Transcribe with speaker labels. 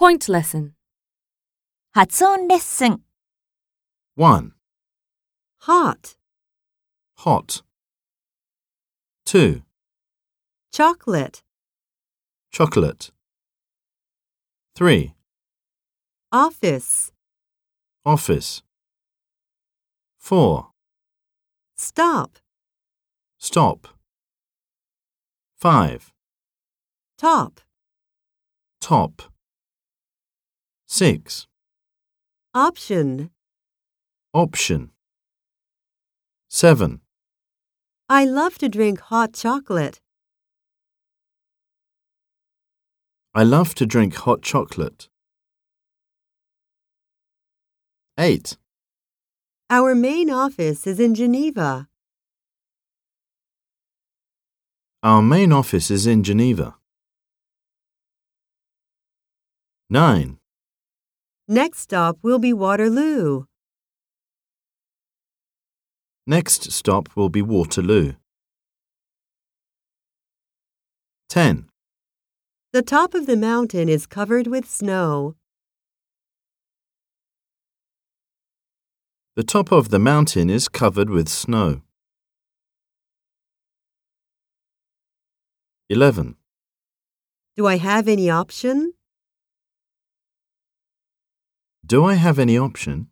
Speaker 1: Point lesson.
Speaker 2: 発音レッスン。
Speaker 3: 1.
Speaker 4: Hot,
Speaker 3: Hot. 2.
Speaker 4: chocolate,
Speaker 3: Chocolate. 3.
Speaker 4: office,
Speaker 3: Office. 4.
Speaker 4: stop,
Speaker 3: Stop. 5.
Speaker 4: top,
Speaker 3: Top. 6.
Speaker 4: option.
Speaker 3: Option. 7.
Speaker 4: I love to drink hot chocolate.
Speaker 3: I love to drink hot chocolate. 8.
Speaker 4: Our main office is in Geneva.
Speaker 3: Our main office is in Geneva. 9.
Speaker 4: Next stop will be Waterloo.
Speaker 3: Next stop will be Waterloo. 10.
Speaker 4: The top of the mountain is covered with snow.
Speaker 3: The top of the mountain is covered with snow. 11.
Speaker 4: Do I have any option?
Speaker 3: Do I have any option?